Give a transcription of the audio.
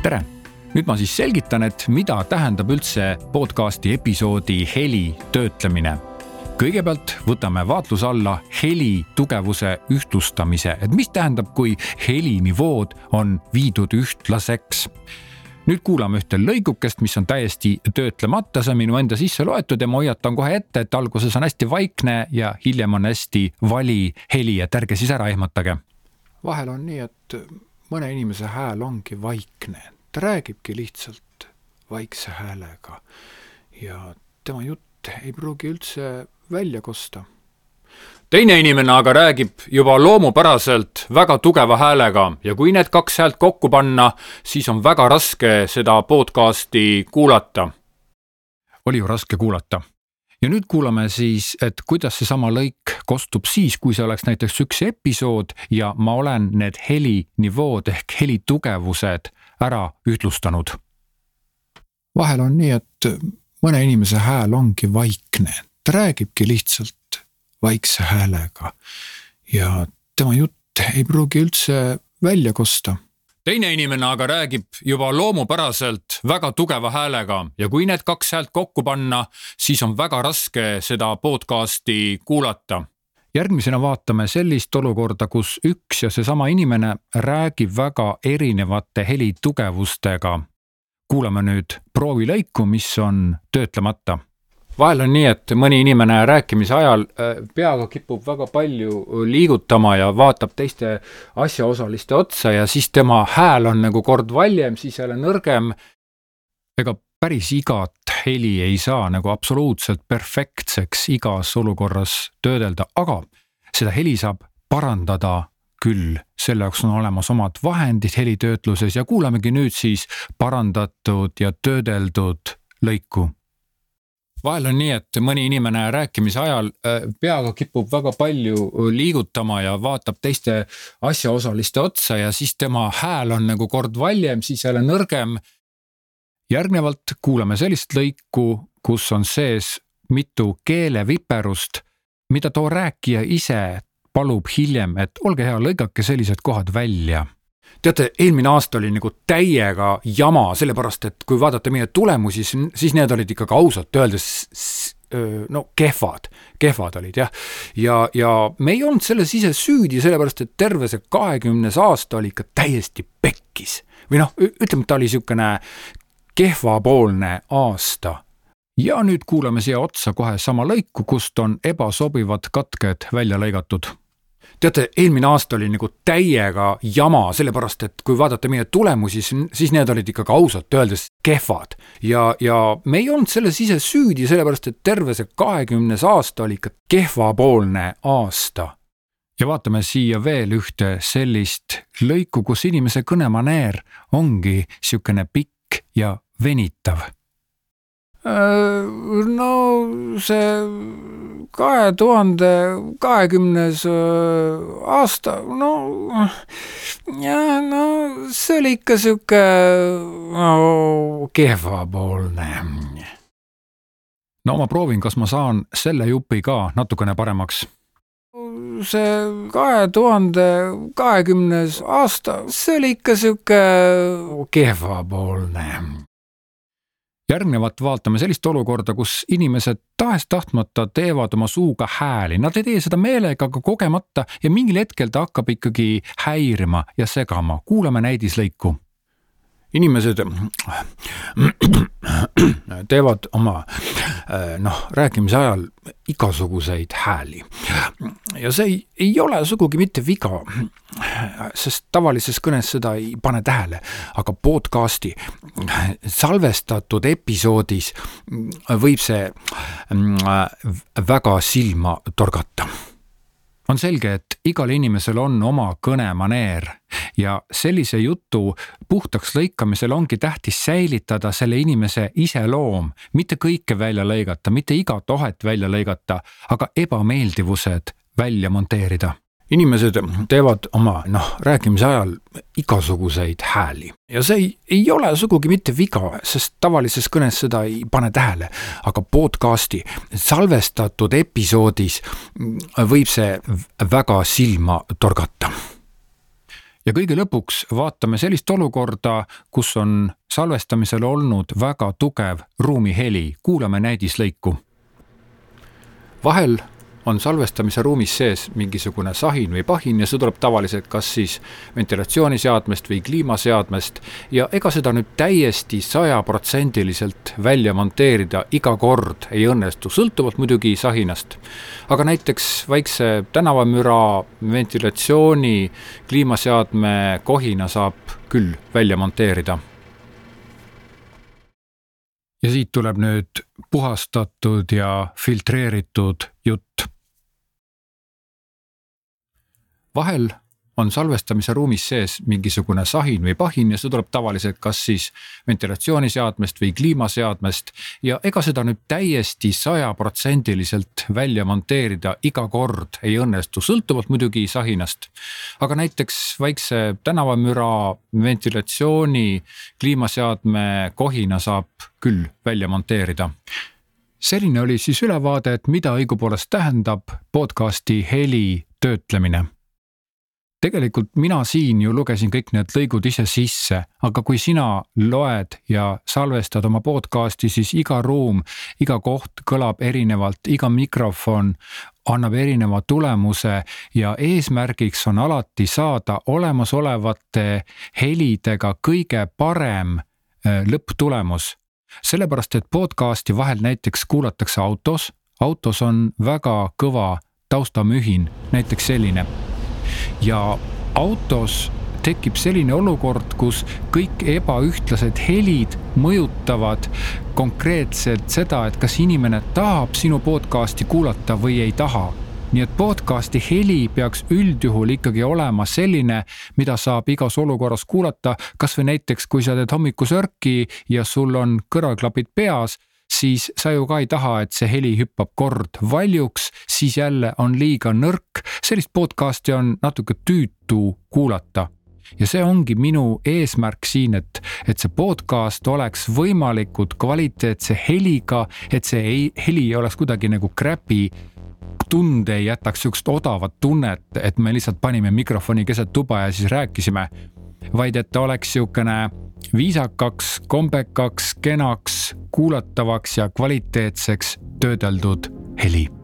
Tere! Nüüd ma siis selgitan, et mida tähendab üldse podcasti episoodi heli töötlemine. Kõigepealt võtame vaatluse alla heli tugevuse ühtlustamise, et mis tähendab, kui helinivood on viidud ühtlaseks. Nüüd kuulame ühte lõigukest, mis on täiesti töötlemata, see on minu enda sisse loetud ja ma hoiatan kohe ette, et alguses on hästi vaikne ja hiljem on hästi vali heli, et ärge siis ära ehmatage. Vahel on nii, et mõne inimese hääl ongi vaikne. Ta räägibki lihtsalt vaikse häälega ja tema jutt ei pruugi üldse välja kosta. Teine inimene aga räägib juba loomupäraselt väga tugeva häälega ja kui need kaks häält kokku panna, siis on väga raske seda podcasti kuulata. Oli ju raske kuulata. Ja nüüd kuulame siis, et kuidas see sama lõik kostub siis, kui see oleks näiteks üks episood ja ma olen need helinivood ehk helitugevused ära ühtlustanud. Vahel on nii, et mõne inimese hääl ongi vaikne. Ta räägibki lihtsalt vaikse häälega ja tema jutt ei pruugi üldse välja kosta. Teine inimene aga räägib juba loomupäraselt väga tugeva häälega ja kui need kaks häält kokku panna, siis on väga raske seda podcasti kuulata. Järgmisena vaatame sellist olukorda, kus üks ja seesama inimene räägib väga erinevate helitugevustega. Kuulame nüüd proovilõiku, mis on töötlemata. Vahel on nii, et mõni inimene rääkimise ajal peaga kipub väga palju liigutama ja vaatab teiste asjaosaliste otsa ja siis tema hääl on nagu kord valjem, siis jälle nõrgem. Ega päris igat heli ei saa nagu absoluutselt perfektseks igas olukorras töödelda, aga seda heli saab parandada küll. Selle jaoks on olemas omad vahendid helitöötluses ja kuulamegi nüüd siis parandatud ja töödeldud lõiku. Vahel on nii, et mõni inimene rääkimise ajal peaga kipub väga palju liigutama ja vaatab teiste asjaosaliste otsa ja siis tema hääl on nagu kord valjem, siis jälle nõrgem. Järgnevalt kuulame sellist lõiku, kus on sees mitu keeleviperust, mida too rääkija ise palub hiljem, et olge hea, lõigake sellised kohad välja. Teate, eelmine aasta oli nagu täiega jama, sellepärast, et kui vaadata meie tulemusi, siis need olid ikkagi ausalt öeldes kehvad olid, jah. Ja me ei olnud selles ise süüdi, sellepärast, et terve see 20. aasta oli ikka täiesti pekkis. Või ütleme, ta oli niisugune kehvapoolne aasta. Ja nüüd kuulame siia otsa kohe sama lõiku, kust on ebasobivad katked välja lõigatud. Teate, eelmine aasta oli nagu täiega jama, sellepärast, et kui vaadata meie tulemusi, siis need olid ikkagi ausalt öeldes kehvad. Ja me ei olnud selles ise süüdi, sellepärast, et terve see 20. aasta oli ikka kehvapoolne aasta. Ja vaatame siia veel ühte sellist lõiku, kus inimese kõnemaneer ongi niisugune pikk ja venitav. No see 2020. aasta, see oli ikka siuke kehvapoolne. No ma proovin, kas ma saan selle jupi ka natukene paremaks. See 2020. aasta, see oli ikka siuke kehvapoolne. Järgnevat vaatame sellist olukorda, kus inimesed tahes-tahtmata teevad oma suuga hääli. Nad ei tee seda meelega, aga kogemata ja mingil hetkel ta hakkab ikkagi häirima ja segama. Kuulame näidislõiku. Inimesed teevad oma rääkimise ajal igasuguseid hääli. Ja see ei ole sugugi mitte viga, sest tavalises kõnes seda ei pane tähele, aga podcasti salvestatud episoodis võib see väga silma torgata. On selge, et igal inimesel on oma kõnemaneer ja sellise jutu puhtaks lõikamisel ongi tähtis säilitada selle inimese iseloom, mitte kõike välja lõigata, mitte igat ohet välja lõigata, aga ebameeldivused välja monteerida. Inimesed teevad oma rääkimise ajal igasuguseid hääli. Ja see ei ole sugugi mitte viga, sest tavalises kõnes seda ei pane tähele, aga podcasti salvestatud episoodis võib see väga silma torgata. Ja kõige lõpuks vaatame sellist olukorda, kus on salvestamisel olnud väga tugev ruumiheli. Kuulame näidislõiku. Vahel on salvestamise ruumis sees mingisugune sahin või pahin ja see tuleb tavaliselt kas siis ventilatsiooniseadmest või kliimaseadmest ja ega seda nüüd täiesti 100% välja monteerida iga kord ei õnnestu, sõltuvalt muidugi sahinast. Aga näiteks väikse tänavamüra, ventilatsiooni, kliimaseadme kohina saab küll välja monteerida. Ja siit tuleb nüüd puhastatud ja filtreeritud jutt. Vahel on salvestamise ruumis sees mingisugune sahin või pahin ja see tuleb tavaliselt kas siis ventilatsiooniseadmest või kliimaseadmest ja ega seda nüüd täiesti 100% välja monteerida iga kord ei õnnestu, sõltuvalt muidugi sahinast. Aga näiteks väikse tänavamüra, ventilatsiooni, kliimaseadme kohina saab küll välja monteerida. Selline oli siis ülevaade, et mida õigupoolest tähendab podcasti heli töötlemine. Tegelikult mina siin ju lugesin kõik need lõigud ise sisse, aga kui sina loed ja salvestad oma podcasti, siis iga ruum, iga koht kõlab erinevalt, iga mikrofon annab erineva tulemuse ja eesmärgiks on alati saada olemasolevate helidega kõige parem lõpptulemus. Sellepärast, et podcasti vahel näiteks kuulatakse autos on väga kõva taustamühin, näiteks selline. Ja autos tekib selline olukord, kus kõik ebaühtlased helid mõjutavad konkreetselt seda, et kas inimene tahab sinu podcasti kuulata või ei taha. Nii et podcasti heli peaks üldjuhul ikkagi olema selline, mida saab igas olukorras kuulata, kas või näiteks kui sa teed hommikusörki ja sul on kõrvaklapid peas, siis sa ju ka ei taha, et see heli hüppab kord valjuks, siis jälle on liiga nõrk. Sellist podcasti on natuke tüütu kuulata. Ja see ongi minu eesmärk siin, et see podcast oleks võimalikult kvaliteetse heliga, et see heli ei oleks kuidagi nagu crappy tunde, ei jätaks sükst odavat tunnet, et me lihtsalt panime mikrofoni keset tuba ja siis rääkisime, vaid et ta oleks siukene viisakaks, kombekaks, kenaks, kuulatavaks ja kvaliteetseks töödeldud heli.